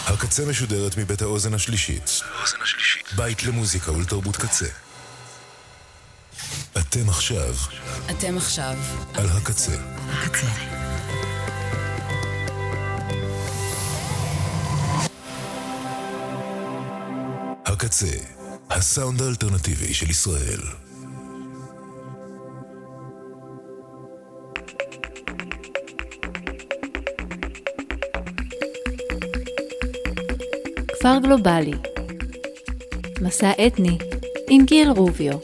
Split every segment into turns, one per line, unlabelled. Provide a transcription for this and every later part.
הקצה משודרת מבית האוזן השלישית. בית למוזיקה ולתרבות קצה. אתם עכשיו על הקצה. הקצה, הסאונד האלטרנטיבי של ישראל.
כפר גלובלי, מסע אתני עם גיל רוביו.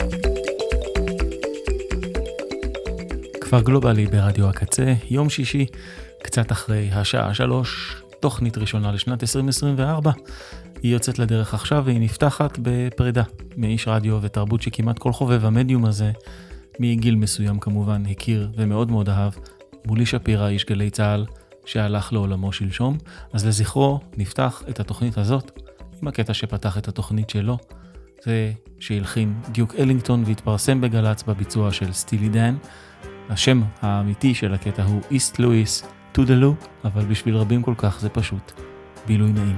כפר גלובלי ברדיו הקצה, יום שישי, קצת אחרי השעה 3, תוכנית ראשונה לשנת 2024. היא יוצאת לדרך עכשיו והיא נפתחת בפרידה מאיש רדיו ותרבות שכמעט כל חובב המדיום הזה, מגיל מסוים כמובן, הכיר ומאוד מאוד אהב, מולי שפירא, איש גלי צהל, שהלך לעולמו שלשום. אז לזכרו נפתח את התוכנית הזאת עם הקטע שפתח את התוכנית שלו, זה שהלחין דיוק אלינגטון והתפרסם בגלץ בביצוע של סטילי דן. השם האמיתי של הקטע הוא איסט לואיס טודלו, אבל בשביל רבים כל כך זה פשוט בילוי נעים.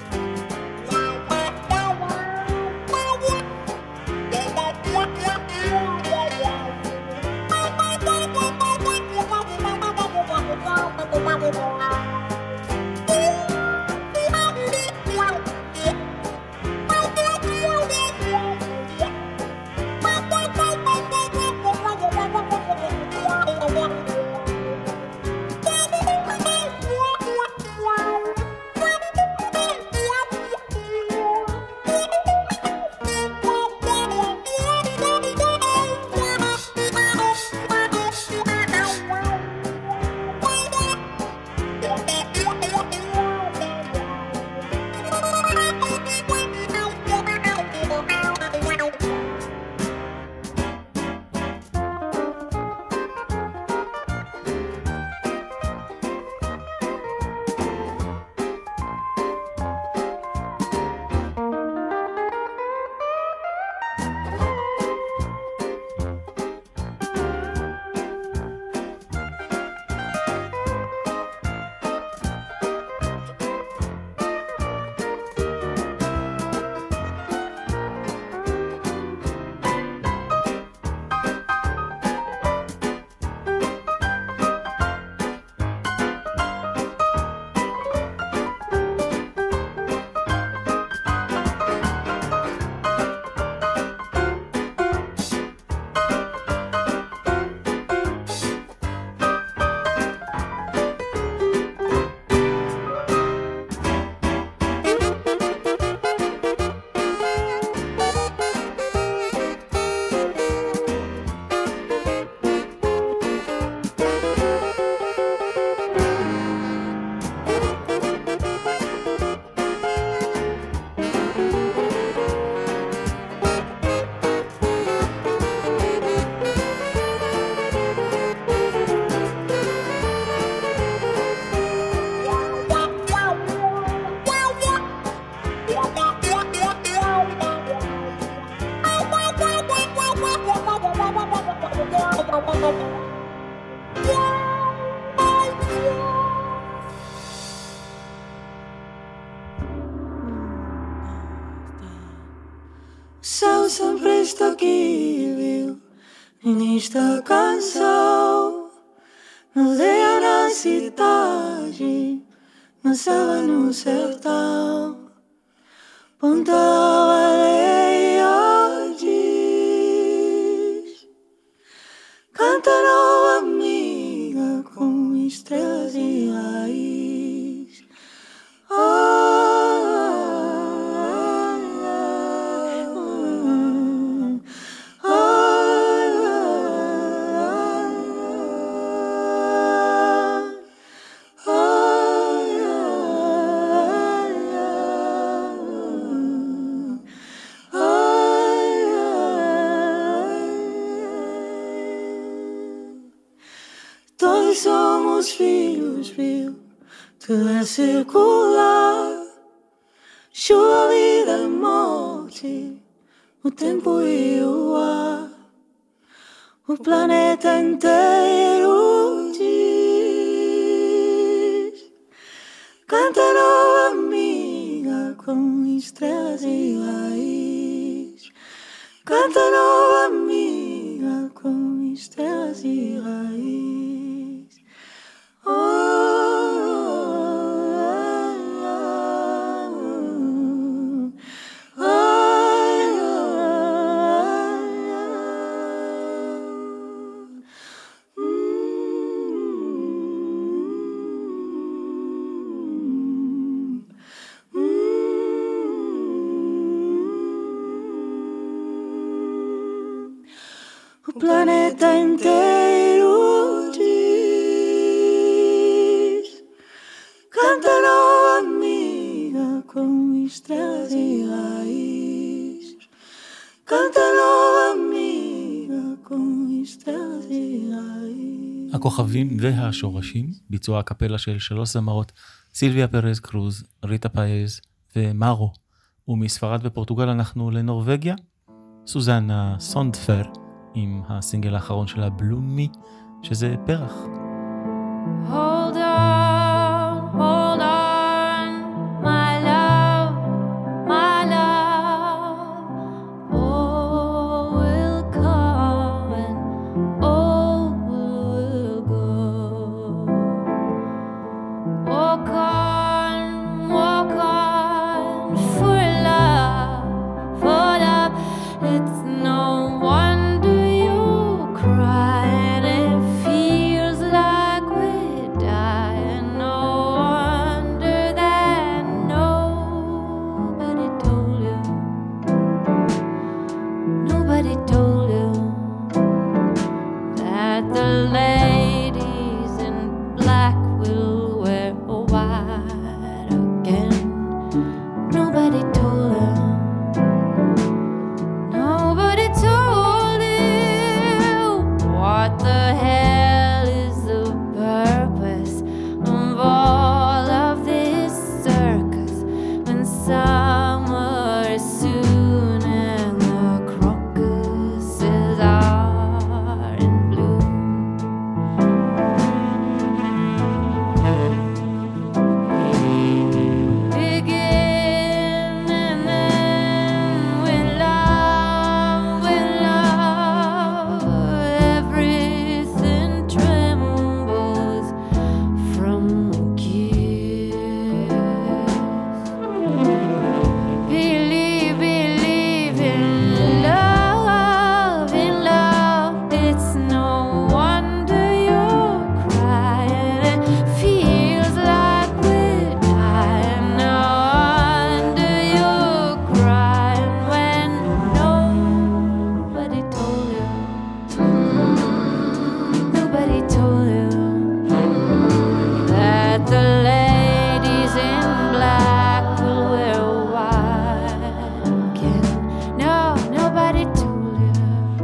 Sou sempre estou aqui, viu? Nesta canção, não veio na cidade, não estava no sertão. Ponta Baleia diz, canta nova amiga com estrelas e raiz. Todos somos filhos, viu? Tudo é circular. Chuva, vida, morte, o tempo e o ar. O planeta inteiro diz, canta nova amiga. com estrelas e raiz. Canta nova amiga com estrelas e raiz. O planeta inteiro diz: canta nova amiga com estrelas e raiz. Canta nova amiga com estrelas e raiz.
הכוכבים והשורשים, ביצוע הקפלה של 3 זמרות, סילביה פרז קרוז, ריטה פאיז ומארו. ומספרד ופורטוגל אנחנו לנורווגיה, סוזנה סונדפר, עם הסינגל האחרון שלה בלומי, שזה פרח.
Hold on, my love, all will come and all will go. Walk on, for love, it's no wonder you cry, and it feels like we're dying. No wonder that nobody told you that the ladies in black will wear white again. Nobody told you. Nobody told you what the hell is the purpose of all of this circus when summer is soon and the crocuses are in bloom. Begin and then with love, everything trembles from a kiss. Believe in love, it's no wonder you're crying. It feels like we're dying. No wonder you're crying when nobody told you. Nobody told you that the ladies in black will wear white again. No, nobody told you.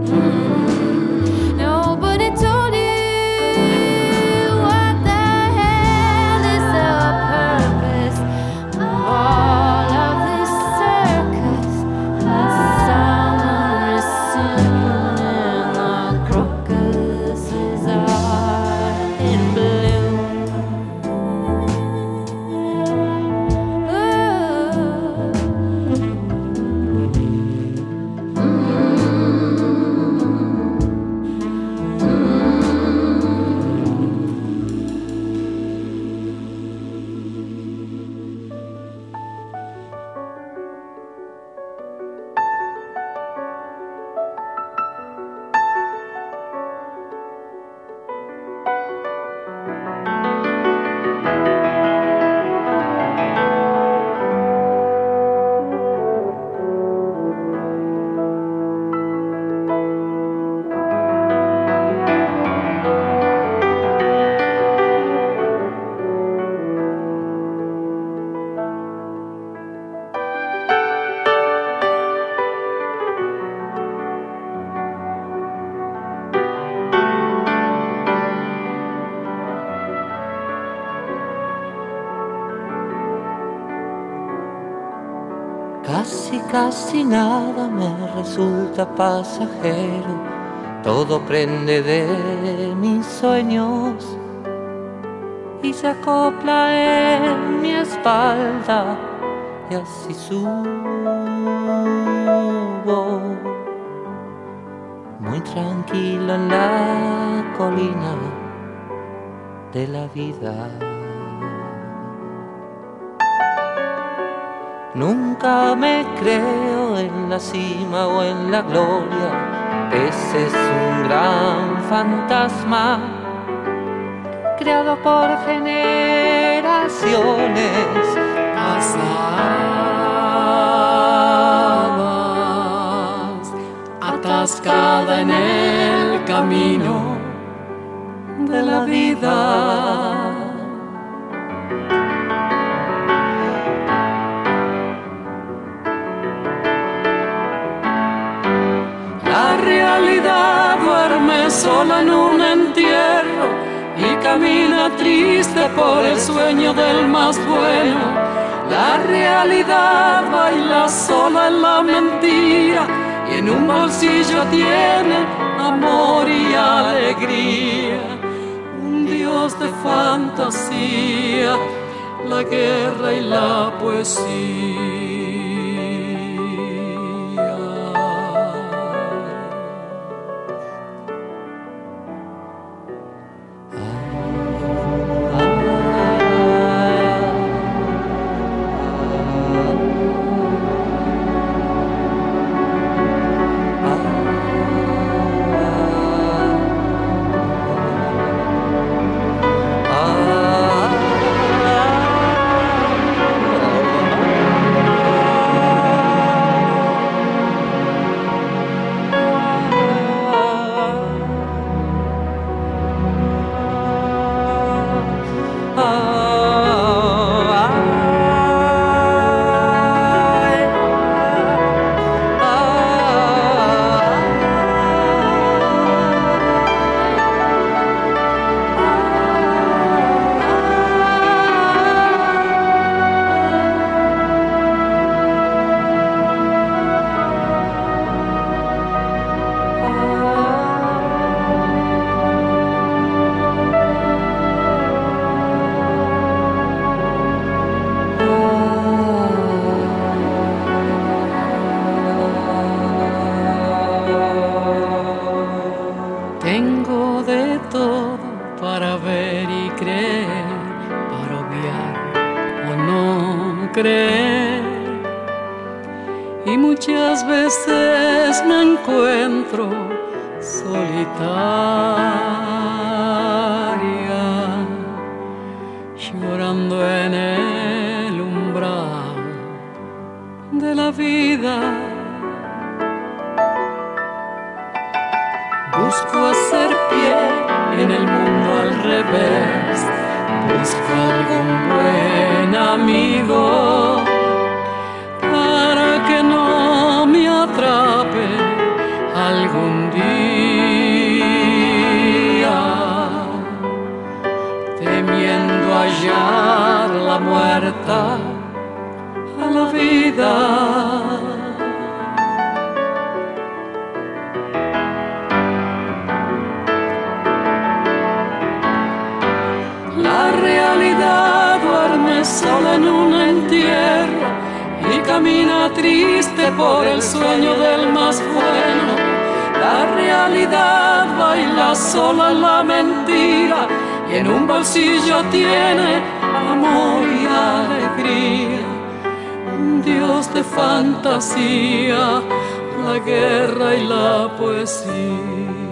Nobody told you what the hell is the purpose of all of this circus. The summer is soon and the crocuses are in bloom.
Casi nada me resulta pasajero, todo prende de mis sueños y se acopla en mi espalda y así subo muy tranquilo en la colina de la vida. Nunca me creo en la cima o en la gloria, ese es un gran fantasma creado por generaciones pasadas, atascada en el camino de la vida. La realidad duerme sola en un entierro y camina triste por el sueño del más bueno. La realidad baila sola en la mentira y en un bolsillo tiene amor y alegría. Un Dios de fantasía, la guerra y la poesía.
creer, y muchas veces me encuentro solitaria, llorando en el umbral de la vida. Busco hacer pie en el mundo al revés, busco algún buen amigo para que no me atrape algún día, temiendo hallar la muerta a la vida. Sola en un entierro y camina triste por el sueño del más bueno. La realidad baila sola en la mentira y en un bolsillo tiene amor y alegría. Un Dios de fantasía, la guerra y la poesía.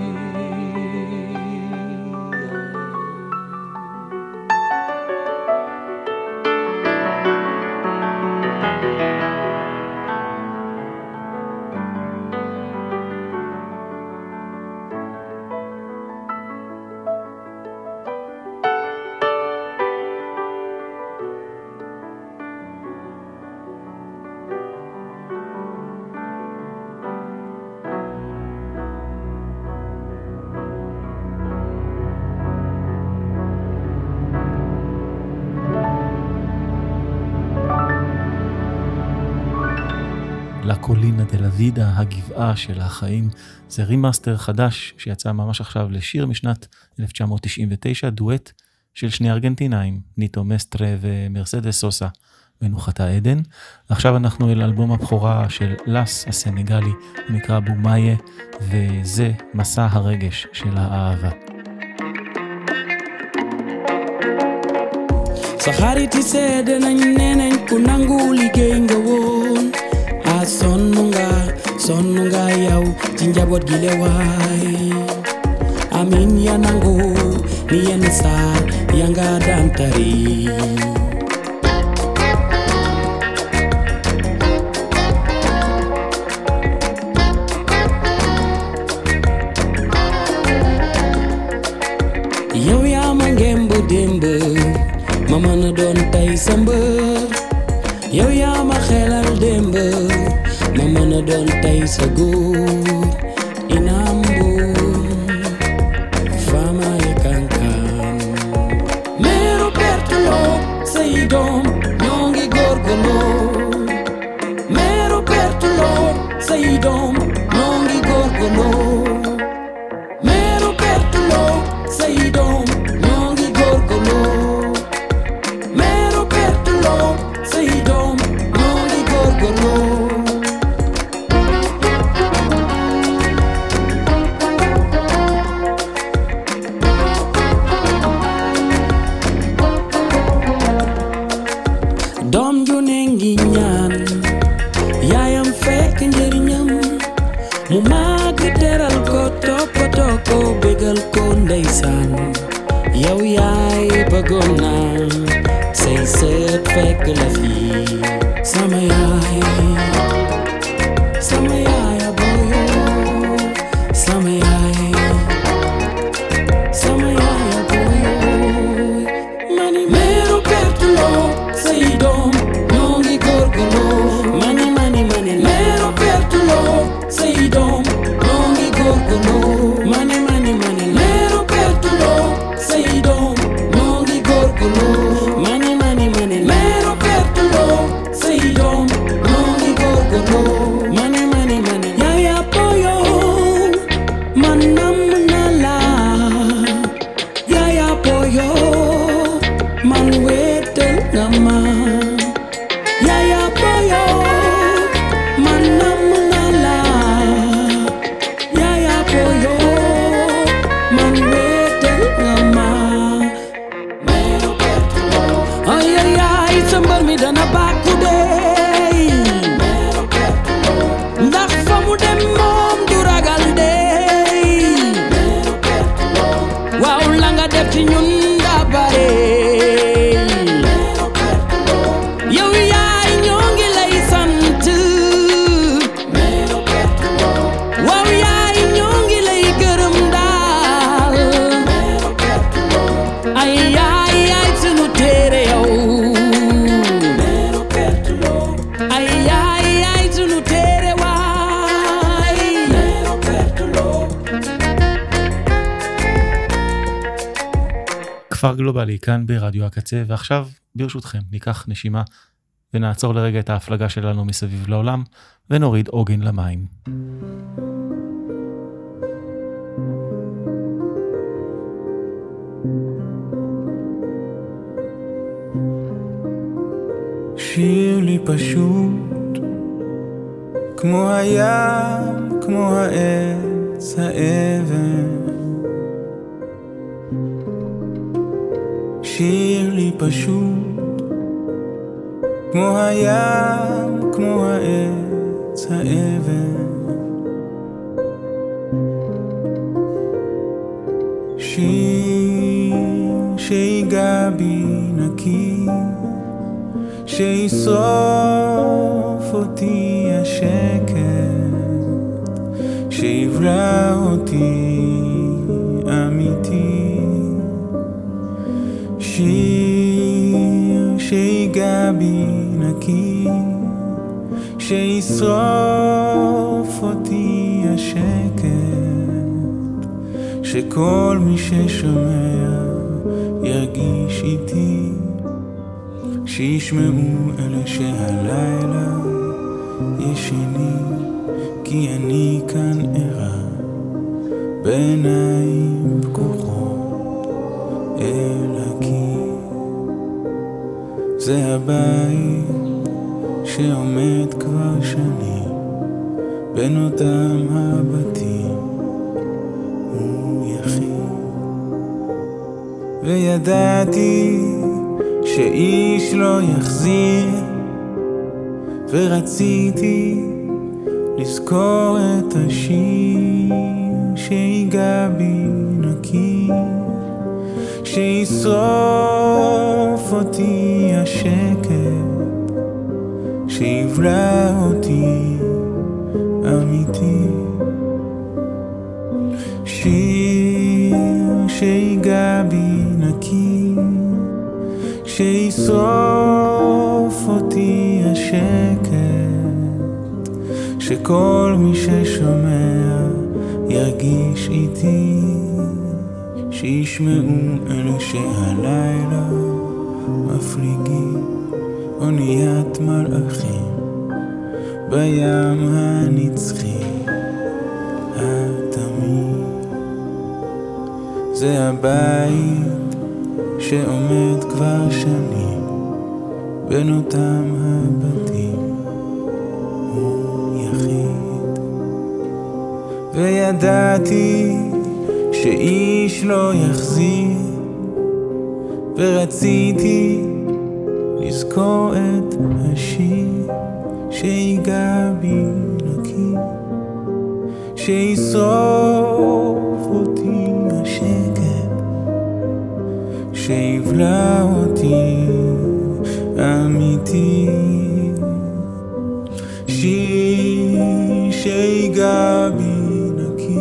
לקולינה דלה וידה, הגבעה של החיים, זה רימאסטר חדש שיצא ממש עכשיו לשיר משנת 1999, דואט של שני ארגנטינאים, ניטו מסטרה ומרסדס סוסה, מנוחתה עדן. עכשיו אנחנו אל אלבום הבכורה של לס הסנגלי, הוא נקרא בומאיה, וזה מסע הרגש של האהבה.
Sahari ti sede na nenen kunangu ligenga won a sonnunga yaw tinjabot gile way amin yanangu ni yensa yanga dantari yow ya mangembu dembe mama na doon tay samba yow yaa ma xelal démb mama na doon tay sa góor inambu fama e kankan meru pertulo say doom ñoo ngi góorgóorlu meru pertulo say doom ñoo ngi góorgóorlu meru pertulo say doom ñoo ngi góorgóorlu doom ju ne ngi ñaan yaayam fekk njëriñam mu màgg teral ko toppatoo ko bégal ko ndeysaan yow yaay bëggoon naa say sët fekk la fii sama yaay a boyo sama yaay a boyo mani meru pertulo say doom ñoo ngi góorgóorlu mani meru pertulo say doom ñoo ngi góorgóorlu mani meru pertulo say doom ñoo ngi góorgóorlu mani meru pertulo say doom ñoo ngi góorgóorlu mani yaaya boyo man nam na la yaaya boyo man weetal nga ma yaaya boyo man nam na la yaaya boyo man weetal nga ma meru pertulo ay sa mbar mi dana bàkku dey meru pertulo ndax fa mu dem moom du ragal dey meru pertulo waaw la nga def ci ñun da bare meru pertulo yow yaay ñoo ngi lay sant meru pertulo waaw yaay ñoo ngi lay gërëm daal meru pertulo ay yaay sunu téere yow meru pertulo ay yaay sunu téere waay meru pertulo
כפר גלובלי כאן ברדיו הקצה, ועכשיו ברשותכם ניקח נשימה ונעצור לרגע את ההפלגה שלנו מסביב לעולם ונוריד עוגן למים.
שיר לי פשוט כמו הים, כמו העץ האבן, שיר לי פשוט כמו הים, כמו העץ האבן, שיר שיגע בי נקי, שישרוף אותי השקט, שיבלע אותי אמיתי, שיר שיגע בי נקי, שישרוף אותי השקט, שכל מי ששומע ירגיש איתי, שישמעו אלה שהלילה ישנים, כי אני כאן ערה בעיניים פקוחות אל הקיר. זה הבית שעומד כבר שנים בין אותם הבתים, הוא יחיד. וידעתי שאיש לא יחזיר, ורציתי לזכור את השיר שיגע בי נקי, שישרוף אותי השקט, שיבלע אותי אמיתי. שיר שיגע בי נקי, שישרוף אותי השקט, שכל מי ששומע ירגיש איתי, שישמעו אלו שהלילה מפליגים אוניית מלאכים בים הנצחי התמיד. זה הבית שעומד כבר שנים בין אותם הבתים, הוא יחיד. וידעתי שאיש לא יחזיר, ורציתי לזכור את השיר שיגע בי נקי, שישרוף אותי השקט, שיבלע אותי אמיתי. שיר שיגע בי נקי,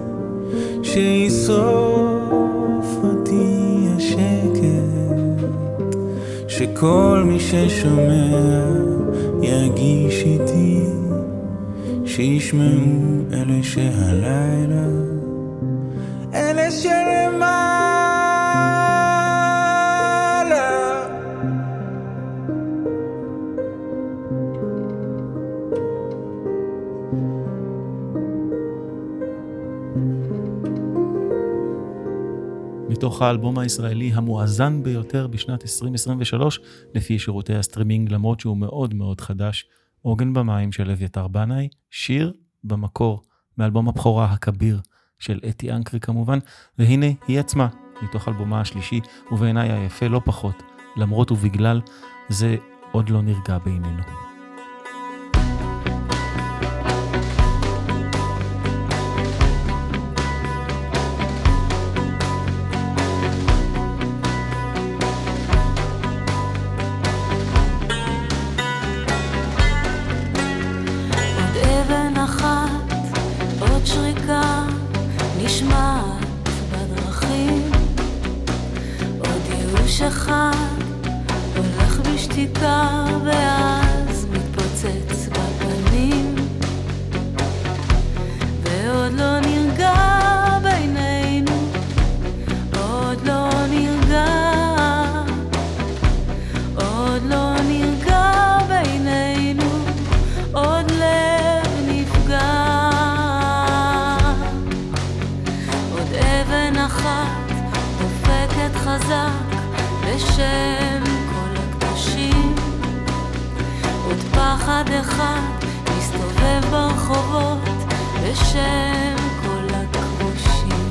שישרוף אותי השקט, שכל מי ששומע ירגיש איתי, שישמעו אלה שהלילה, אלה שלמעלה.
מתוך האלבום הישראלי המואזן ביותר בשנת 2023, לפי שירותי הסטרימינג, למרות שהוא מאוד מאוד חדש, עוגן במים של אביתר בנאי, שיר במקור, מאלבום הבכורה הכביר של אתי אנקרי כמובן, והנה היא עצמה, מתוך אלבומה השלישי, ובעיניי היפה לא פחות, למרות ובגלל, זה עוד לא נרגע בינינו.
הולך בשתיקה ואז מתפוצץ בפנים, ועוד לא נרגע בינינו, עוד לא נרגע, עוד לא נרגע בינינו, עוד לב נפגע. עוד אבן אחת דופקת חזק בשם כל הקדושים, עוד פחד אחד מסתובב ברחובות בשם כל הכבושים.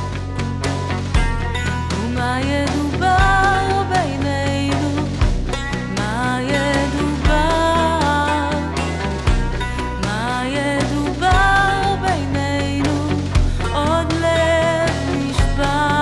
ומה ידובר בינינו, מה ידובר, מה ידובר בינינו, עוד לב נשבר.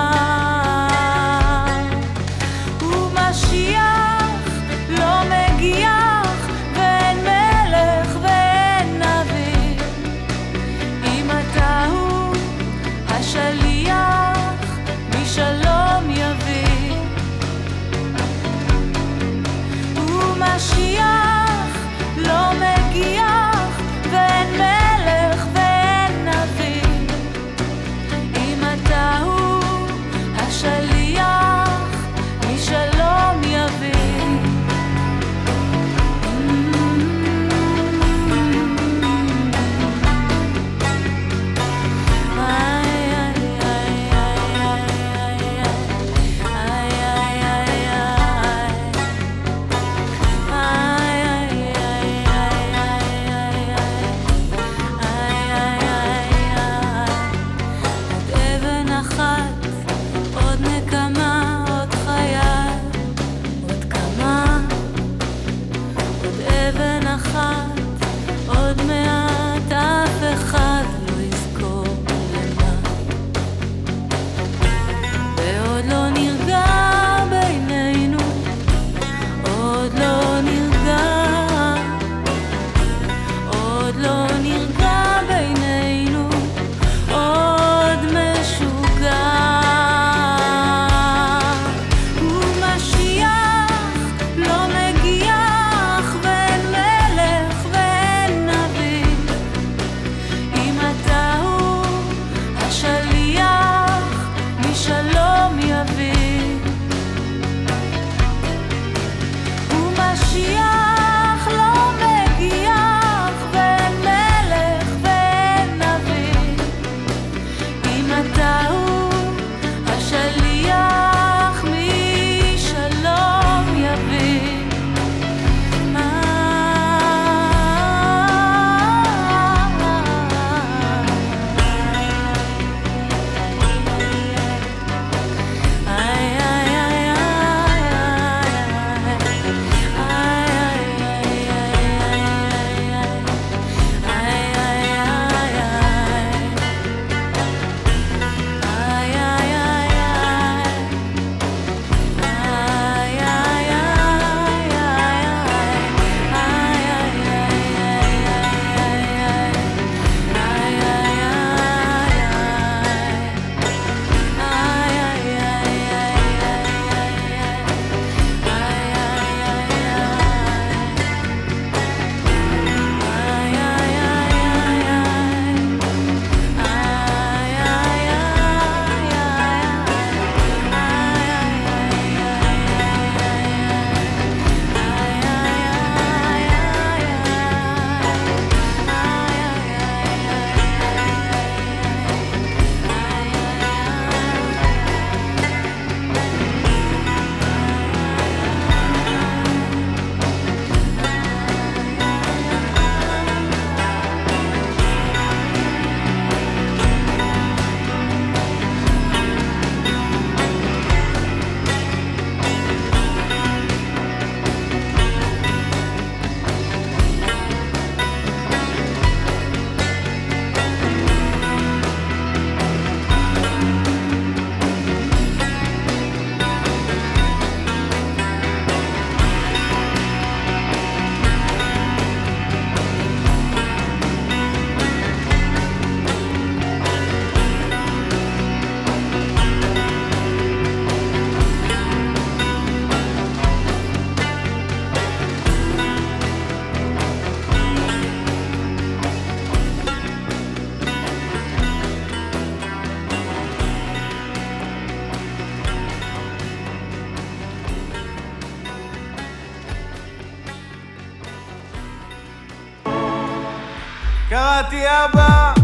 קראתי אבא,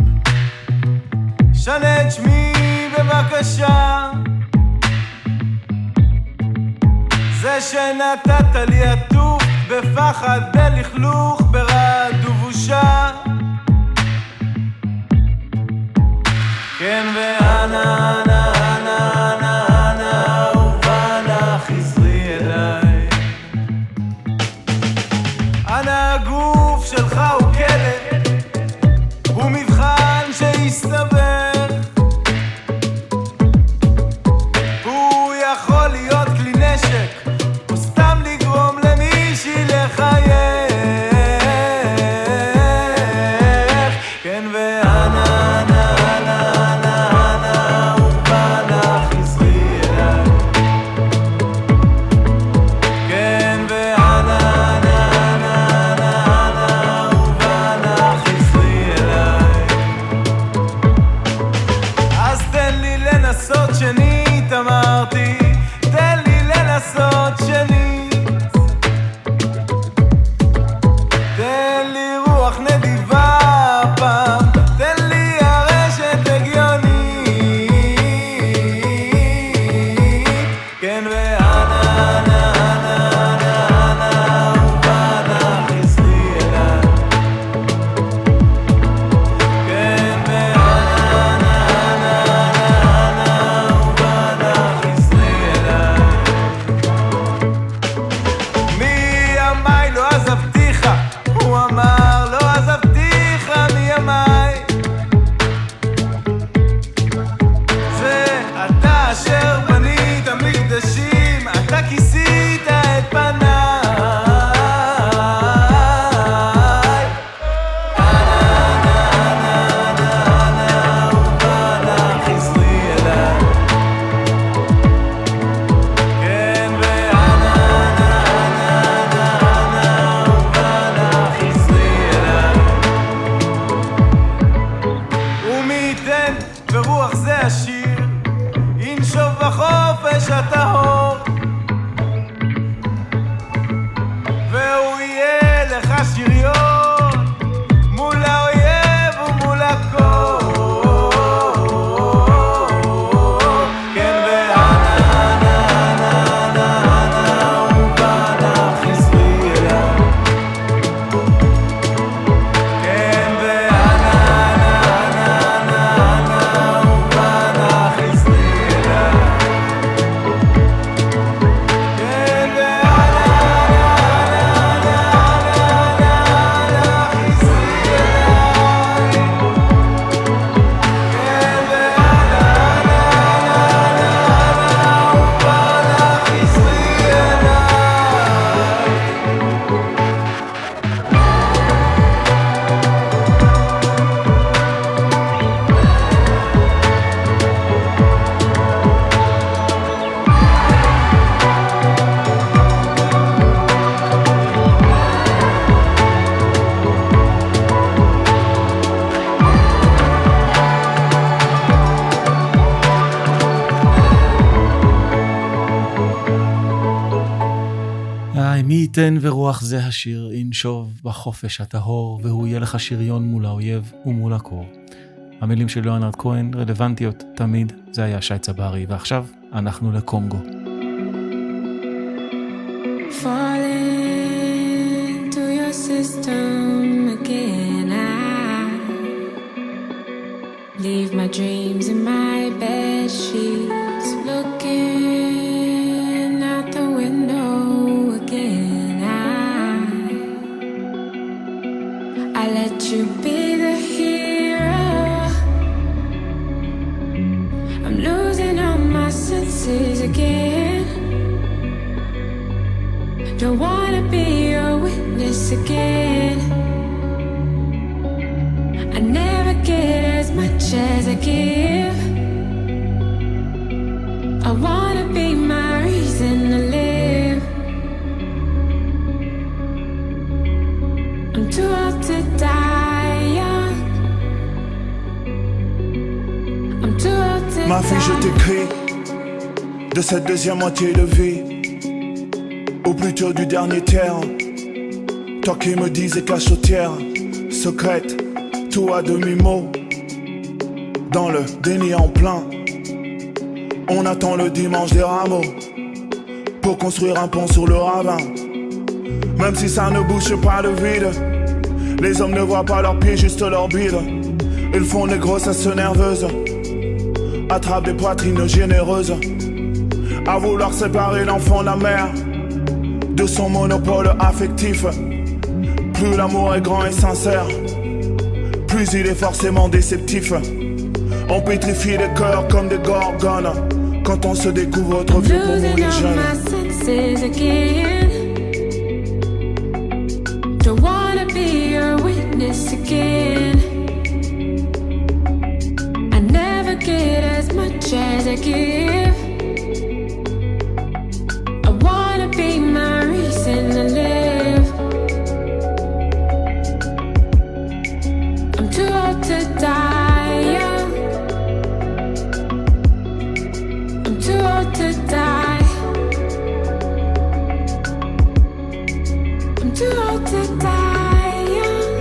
שנה את שמי בבקשה, זה שנתת לי עטוף בפחד, בלכלוך, ברעד ובושה. כן ואנה, אנה, אנה, אנה, אנה, ובנה חזרי אליי. אנה הגוף שלך הוא כלב, הוא מבחן שהסתבר, הוא יכול להיות כלי נשק, או סתם לגרום למישהי לחייך. כן ואנה, אנה, אנה, אנה, אנה, ובנה חזרי אליי. כן ואנה, אנה, אנה, אנה, ובנה חזרי אליי. אז תן לי לנסות שנית, אמרתי, תן לי לנסות שנית, תן לי רוח נדיבה פעם, תן לי הרשת הגיונית. כן ואנה, אנה, אנה, אנה, אנה, ובנה חזרי אליי. כן ואנה, אנה, אנה, אנה, ובנה חזרי אליי. מי ימיי לא עזבתיך, הוא אמר לא עזבתיך מימיי, זה אתה אשר בנית מקדשים, אתה כיסית את פניי. ובנה חזרי אליי. כן ואנה, אנה, ובנה חזרי אליי. ומי ייתן ורוח זה השיר ינשוב בחופש הטהור, והוא יהיה לך שריון מול האויב ומול הקור. כן ואנה, אנה, אנה, אנה, ובנה חזרי אליי. כן ואנה, אנה, אנה, ובנה חזרי אליי. כן ואנה,
מי ייתן ורוח זה השיר ינשוב בחופש הטהור, והוא יהיה לך שריון מול האויב ומול הקור. המילים של ליאונרד כהן רלוונטיות תמיד, זה היה שי צברי, ועכשיו אנחנו לקונגו.
Falling to your system again, I leave my dreams in my bed sheets, looking out the window again. I let you be the hero. I'm losing all my senses again. Don't wanna be your witness again. I never get as much as I give. I wanna be my reason to live. I'm too old to die young. I'm too old to
Ma fille, je t'écris de cette deuxième moitié de vie, ou plutôt du dernier terme. Toi qui me disais cachotière, secrète, tout à demi-mot. Dans le déni en plein, on attend le dimanche des rameaux pour construire un pont sur le ravin. Même si ça ne bouche pas le vide, les hommes ne voient pas leurs pieds, juste leur bide. Ils font des grossesses nerveuses, attrapent des poitrines généreuses, à vouloir séparer l'enfant de la mère de son monopole affectif. Plus l'amour est grand et sincère, plus il est forcément déceptif. On pétrifie les cœurs comme des gorgones quand on se découvre trop vieux pour mourir jeune.
Don't wanna be your witness again. I never get as much as I give. I wanna be my reason to live. I'm too old to die young. I'm too old to die. I'm too old to die young.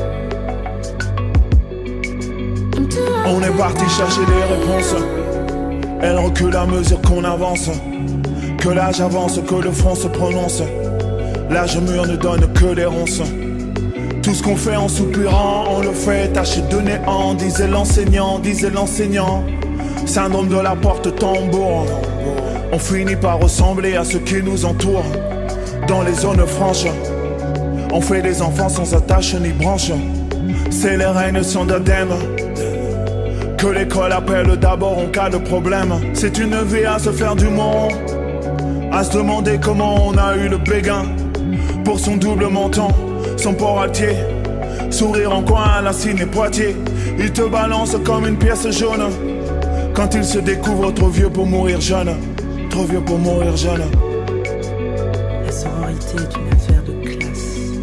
I'm too old.
On est parti chercher des réponses. Elles reculent à mesure qu'on avance. Que l'âge avance, que le front se prononce. L'âge mûr ne donne que des ronces. Tout ce qu'on fait en soupirant, on le fait taché de néant. Disait l'enseignant, syndrome de la porte tambour. On finit par ressembler à ceux qui nous entourent. Dans les zones franches, on fait des enfants sans attache ni branche. C'est les règnes sont d'Adem que l'école appelle d'abord en cas de problème. C'est une vie à se faire du monde, à se demander comment on a eu le béguin pour son double menton, son port altier. Sourire en coin à la Cine et Poitiers. Il te balance comme une pièce jaune quand il se découvre trop vieux pour mourir jeune. Trop vieux pour mourir jeune.
La sororité est une affaire de classe.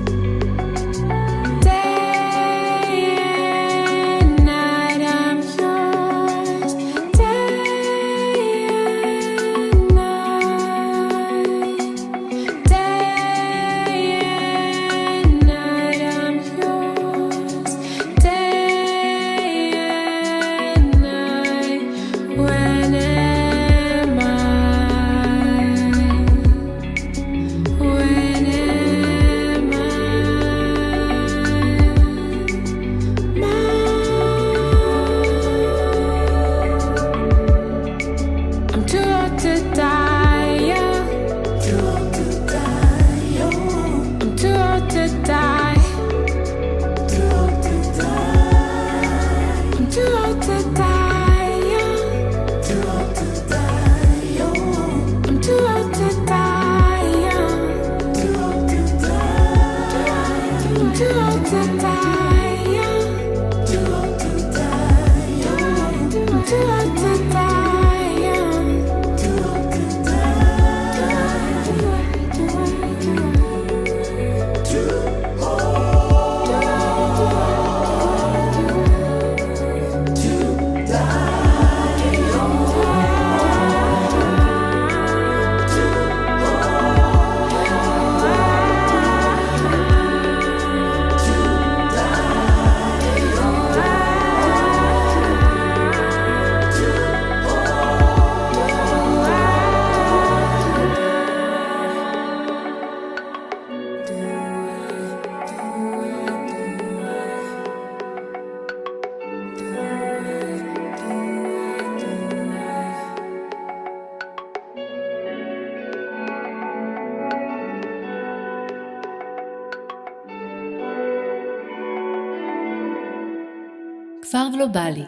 כפר גלובלי,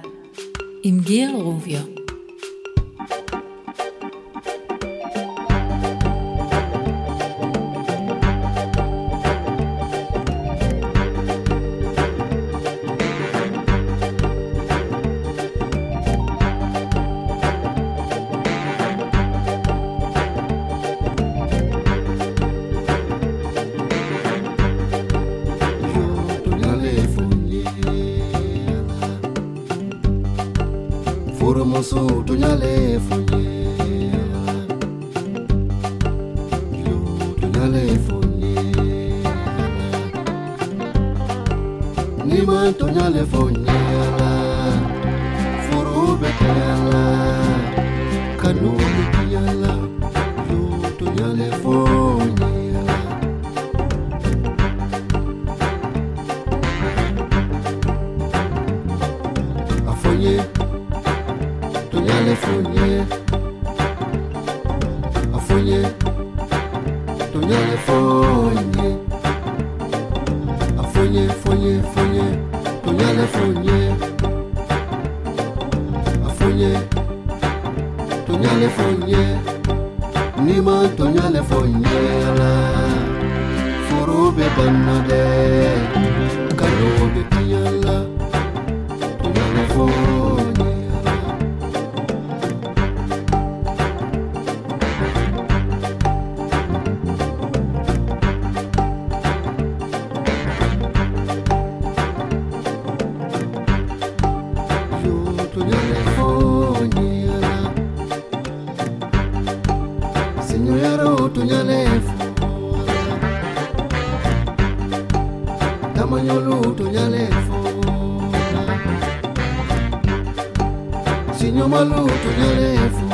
עם גיל רוביו.
Nima tonyale fonyala Furu betala Kanu betala Yo tonyale fonyala Afonye Tonyale fonye Afonye Tonyale fonye Afonye fonye fonye Tonyale fonye Afonye Tonyale fonye Nima tonyale fonye la Furube banade Karobe tiyala Tonyale fonye Signor Maluto Nyalefu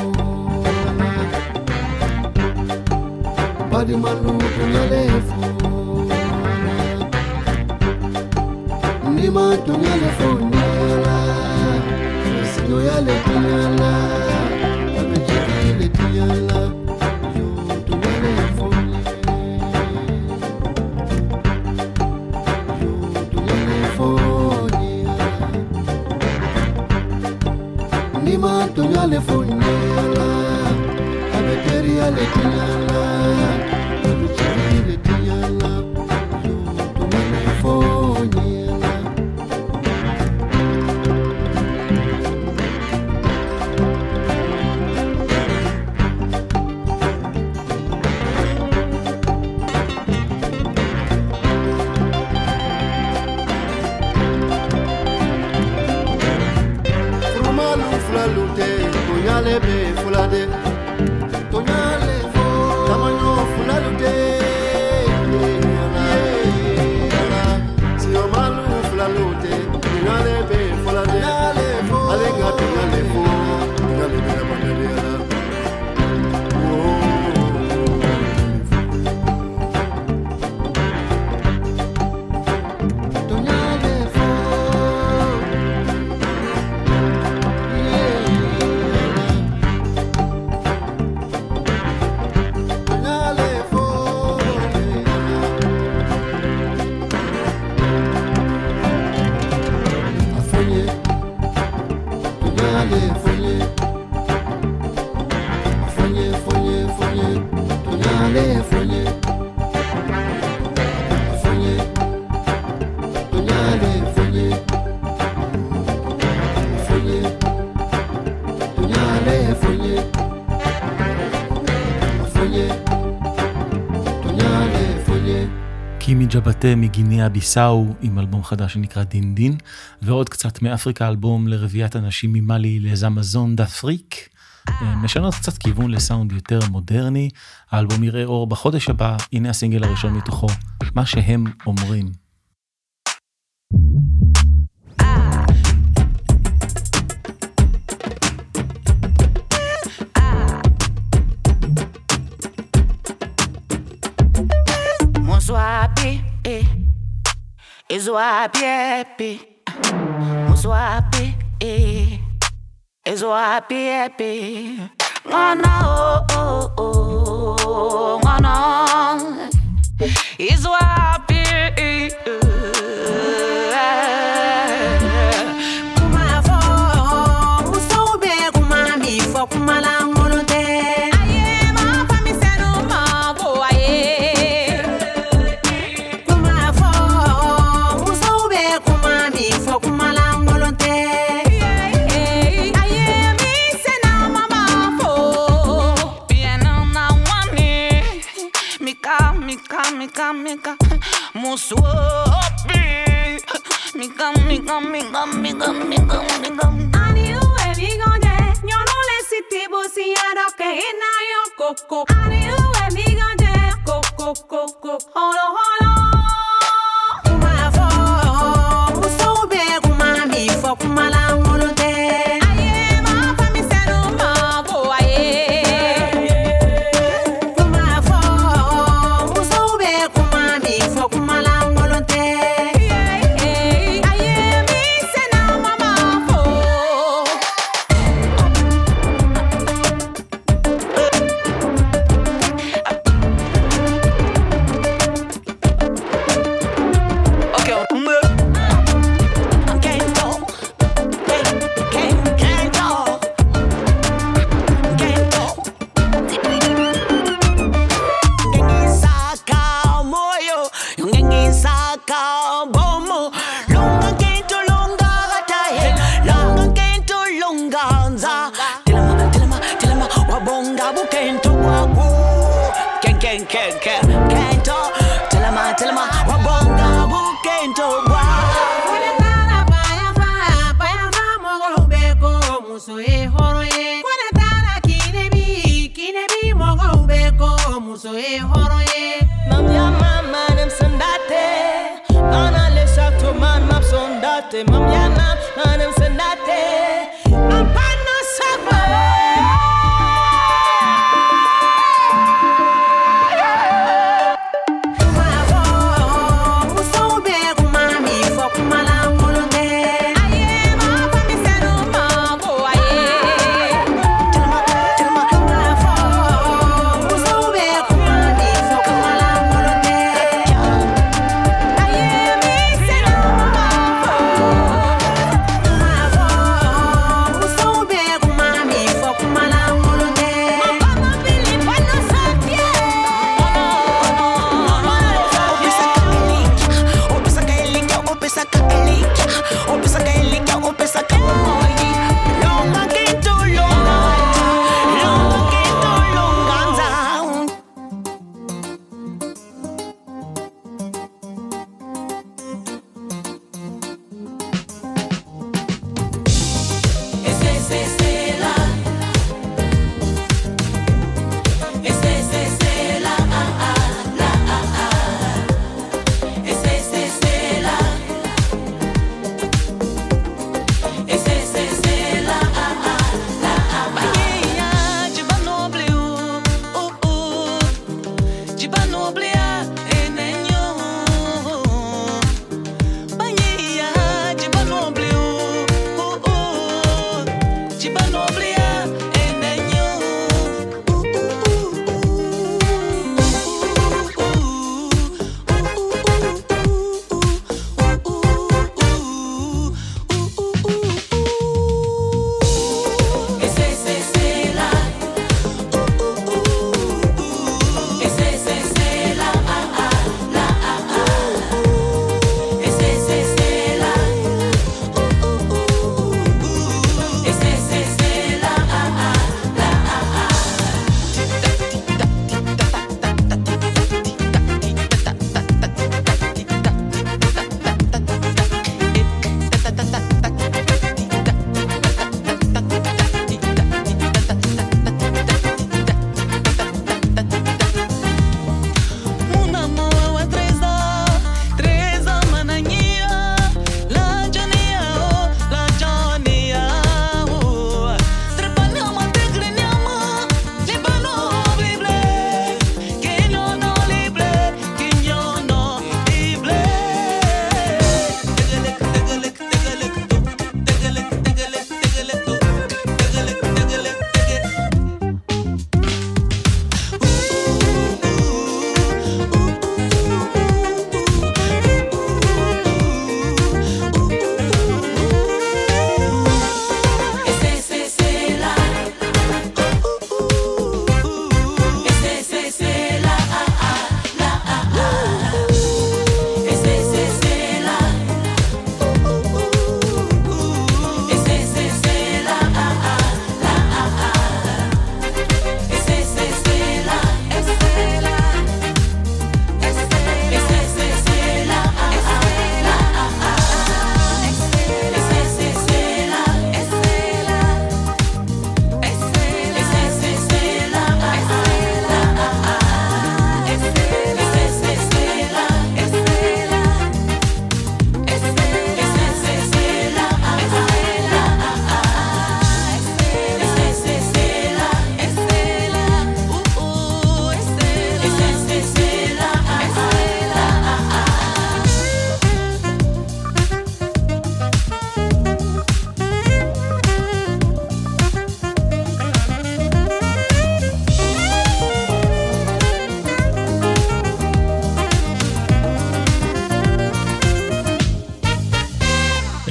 Badi Maluto Nyalefu Nima Nyalefu Nyala Signor Yalefu Nyala Abejiri Nyala Yo Nyalefu Yo Nyalefu Nima tonyale fonyala Abeteri ale tinyala Abuchiri le tinyala Yo tonyale fonyala Tonyale be fulade Tonyale fo Tamanyo fulalute Siyo malu fulalute Tonyale be fulade Alenga tonyale fo Tonyale be la manadera
קימי ג'בטה מגינאה ביסאו עם אלבום חדש שנקרא דין דין, ועוד קצת מאפריקה, אלבום לרביית אנשים ממאלי לזמזון דאפריק, משנות קצת כיוון לסאונד יותר מודרני. האלבום יראה אור בחודש הבא, הנה הסינגל הראשון מתוכו, מה שהם אומרים.
Moswapi, Ezwapi, Moswapi, Ezwapi, Ngana, Ngana, Ezwapi, Kumafo, Musobe, Kumami, Fokumala. Mika, Muswapi, Mika.
Ani uwe migonje, nyono le siti bosi yaro ke ina yo koko. Ani uwe migonje, koko, holo. Kumafo,
faut qu'on m'a la volonté.
Oh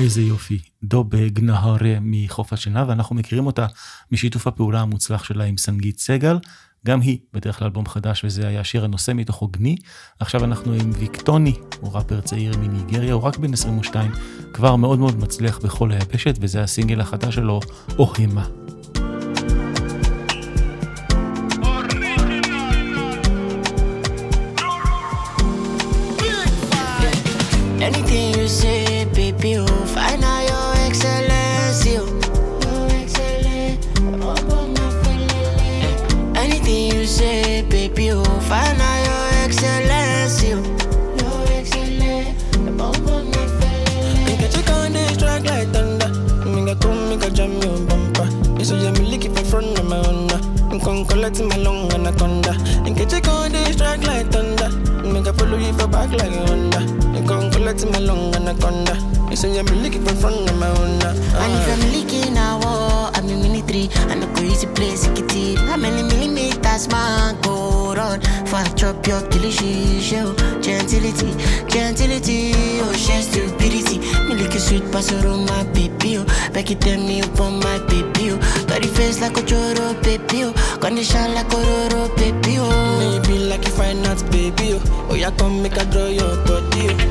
איזה יופי, דובג נהרה מחוף השינה, ואנחנו מכירים אותה משיתוף הפעולה המוצלח שלה עם סנגית סגל, גם היא בדרך כלל אלבום חדש, וזה היה שיר הנושא מתוכו גני. עכשיו אנחנו עם ויקטוני, הוא ראפר צעיר מניגריה, הוא רק בן 22, כבר מאוד מאוד מצליח בכל היבשת, וזה הסינגל החדש שלו, אוהמה.
Anything you say, baby, oh, find out your excellency, oh. Your excellency, anything you say, baby, oh, find out your excellency, oh. Your excellency, make a check on this track like thunder. Make a come, make a jam your bumper. You say you me lick it in front of my honor. I'm come collect my long anaconda. Make a check on this track like thunder. Make a follow you for back like a Honda. Come collect my long anaconda. You say I'm licking in front of my own. And if I'm licking now, I'm in military. And I go easy place, it. How many millimeters, man, go run? Fast drop your delicious show. Gentility, gentility, oh, she's stupidity. Me lick a sweet pass around my baby, oh. Back it tell me upon my baby, oh. Got the face like a choro, baby, oh. Condition like a roro, baby, oh. Maybe like you find out, baby, oh. Oh, yeah, come make a draw your body, oh.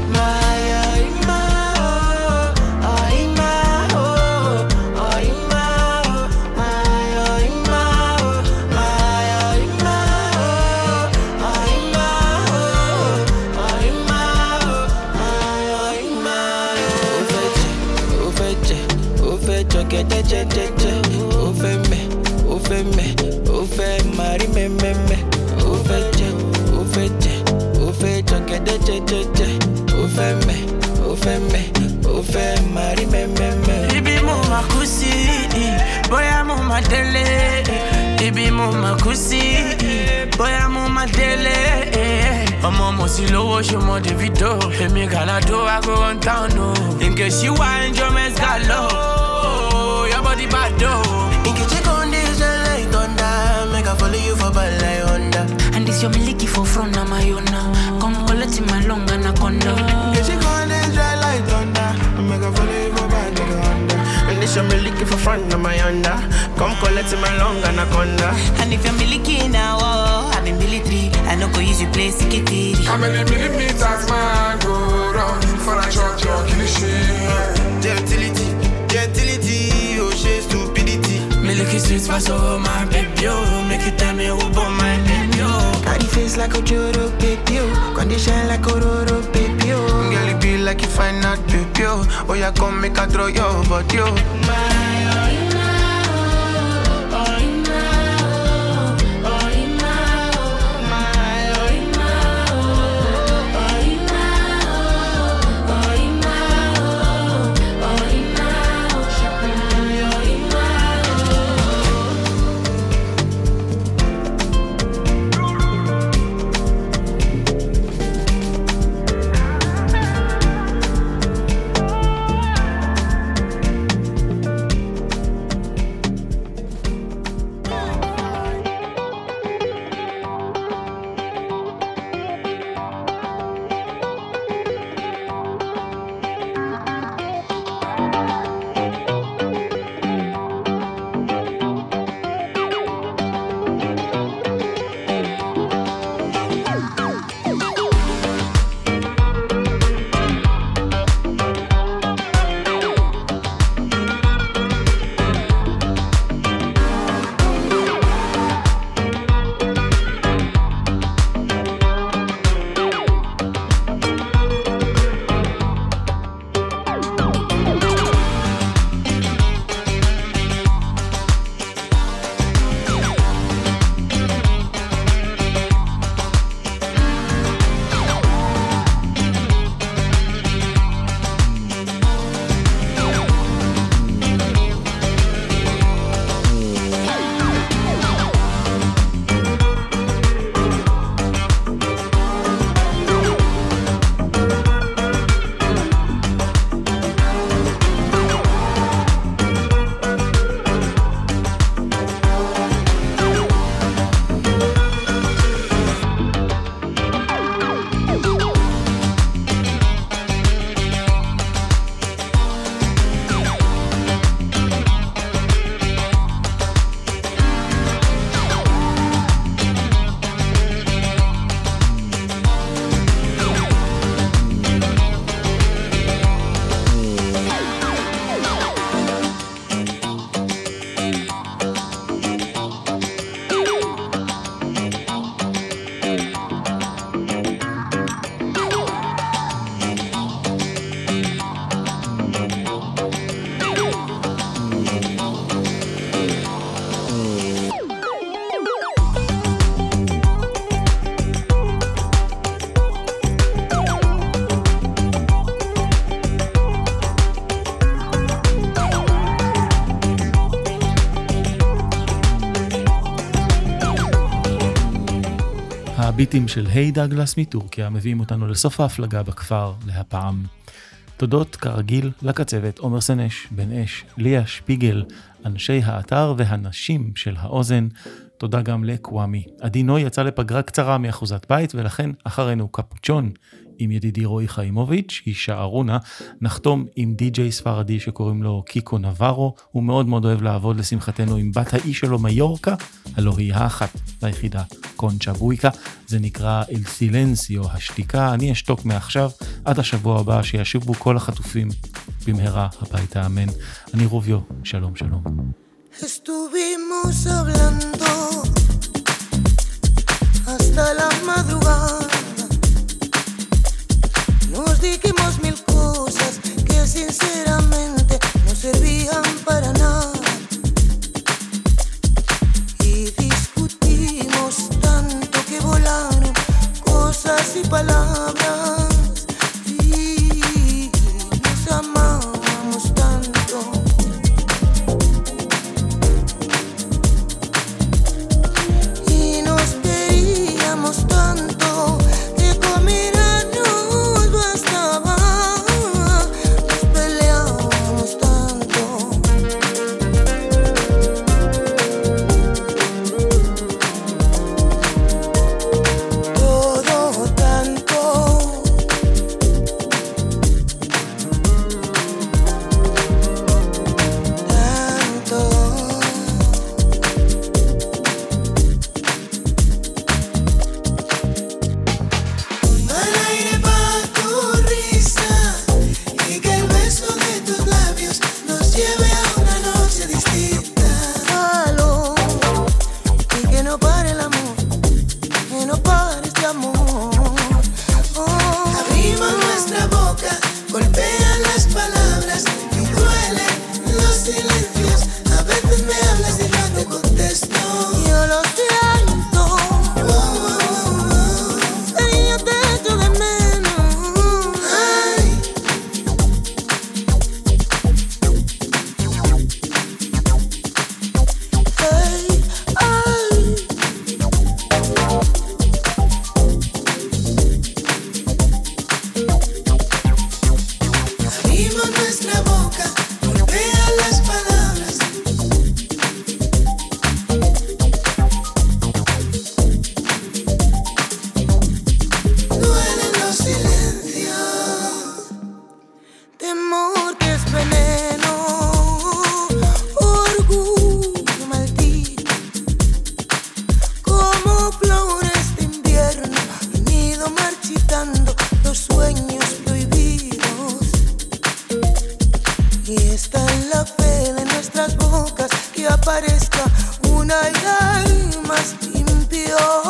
Ibi mo makusi, boya mo madele. Ibi mo makusi, boya mo madele. Ọmọ mo si lówó ṣe mo Davido. Èmi Galado I go on town no. In case you want enjoyment galo, your body bad though. In case you go this like thunder, make I follow you for bad like Honda. And this your miliki for front na my own. Come collect my long anaconda. In case you go this like thunder, make I follow you for bad like Honda. And this your miliki for front na my Honda. Come collect my long anaconda. And if you're miliki now, I'm in military. I know go use your place to get it.
How many millimeters man go run for a church or kilishi?
Gentility, gentility, oh she's stupidity. Milky sweets pass over my baby, oh. Make it tell me who bought my baby, oh. Got the face like a Joro, baby, oh. Condition like a Roro, baby, oh. Girl, it be like you find out, baby, oh. Oh, yeah, come make a throw your body, oh.
הביטים של היי דאגלס מטורקיה מביאים אותנו לסוף ההפלגה בכפר להפעם. תודות כרגיל לקצבת עומר סנש, בן אש, ליה שפיגל, אנשי האתר והנשים של האוזן. תודה גם לקוואמי. עדינו יצא לפגרה קצרה מאחוזת בית, ולכן אחרינו קפוצ'ון עם ידידי רועי חיימוביץ', הישארונה. נחתום עם די-ג'יי ספרדי שקוראים לו קיקו נברו. הוא מאוד מאוד אוהב לעבוד לשמחתנו עם בת האיש שלו מיורקה, הלא היא האחת והיחידה קונצ'ה בויקה. זה נקרא אל סילנסיו, השתיקה. אני אשתוק מעכשיו עד השבוע הבא שישובו כל החטופים במהרה הביתה, אמן. אני רוביו, שלום שלום.
Estuvimos hablando hasta la madrugada. Nos dijimos mil cosas que sinceramente no servían para nada. Y discutimos tanto que volaron cosas y palabras. Y nos amábamos tanto. Tanto que con mirarnos bastaba, nos peleábamos tanto. Todo tanto. Tanto. Aparezca una y más limpio.